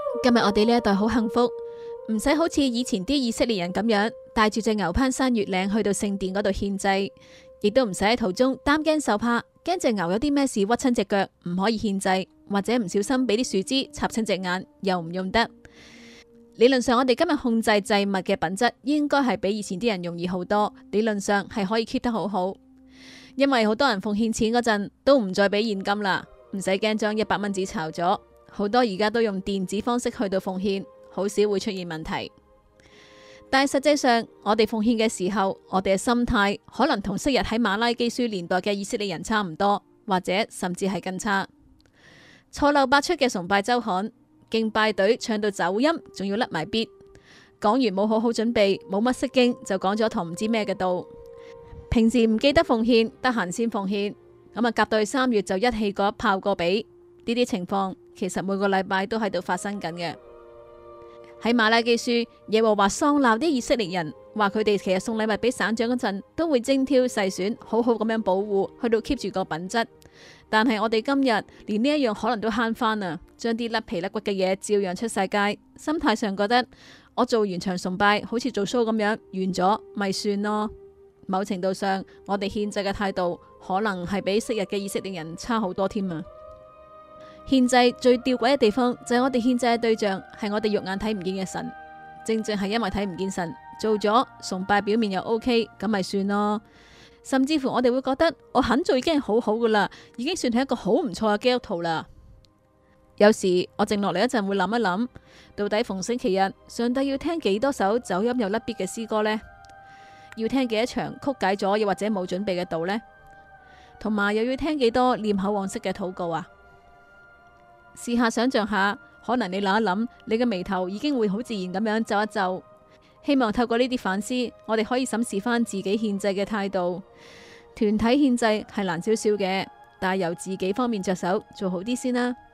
今日我哋呢一代好幸福，唔使好似以前啲以色列人咁樣帶住隻牛攀山越嶺去到聖殿嗰度獻祭，亦都唔使喺途中擔驚受怕，驚隻牛有啲咩事屈親隻腳唔可以獻祭，或者唔小心俾啲樹枝插親隻眼又唔用得。理論上我哋今日控制祭物嘅品質應該係比以前啲人容易好多，理論上係可以 keep 得好好，因為好多人奉獻錢嗰陣都唔再俾現金啦，唔使驚將100蚊紙炒咗，好多而家都用電子方式去到奉獻，好少會出現問題。但係實際上我哋奉獻嘅時候，我哋嘅心態可能同昔日喺馬拉基書年代嘅以色列人差唔多，或者甚至係更差。錯漏百出嘅崇拜周刊，敬拜隊唱到走音，仲要甩埋 beat，講完冇好好準備，冇乜識經就講咗堂唔知咩嘅道。平時唔記得奉獻，得閒先奉獻，咁啊夾到去3月就一氣過一炮過俾。呢啲情況其實每個禮拜都喺度發生緊嘅。喺馬拉基書，耶和華喪鬧啲以色列人，話佢哋其實送禮物俾省長嗰陣都會精挑細選，好好咁樣保護，去到 keep 住個品質。但係我哋今日連呢一樣可能都慳翻啊，將啲甩皮甩骨嘅嘢照樣出晒街，心態上覺得我做完場崇拜好似做 show 咁樣，完咗咪算咯。某程度上，我哋獻祭嘅態度可能係比昔日嘅以色列人差好多添啊。獻祭最吊詭嘅地方就係我哋獻祭嘅對象係我哋肉眼睇唔見嘅神，正正係因為睇唔見神，做咗崇拜表面又 OK， 咁咪算咯。甚至乎我哋會覺得我肯做已經係好好噶啦，已經算係一個好唔錯嘅基督徒啦。有時我靜落嚟一陣會諗一諗，到底逢星期日上帝要聽幾多首走音又甩 beat 嘅詩歌呢？要聽幾多場曲解咗又或者冇準備嘅道呢？同埋又要聽幾多念口黃色嘅禱告啊？試下想象下，可能你諗一諗，你嘅眉頭已經會好自然咁樣皺一皺。希望透過呢啲反思，我哋可以審視翻自己獻祭嘅態度。團體獻祭係難少少嘅，但係由自己方面着手做好啲先啦。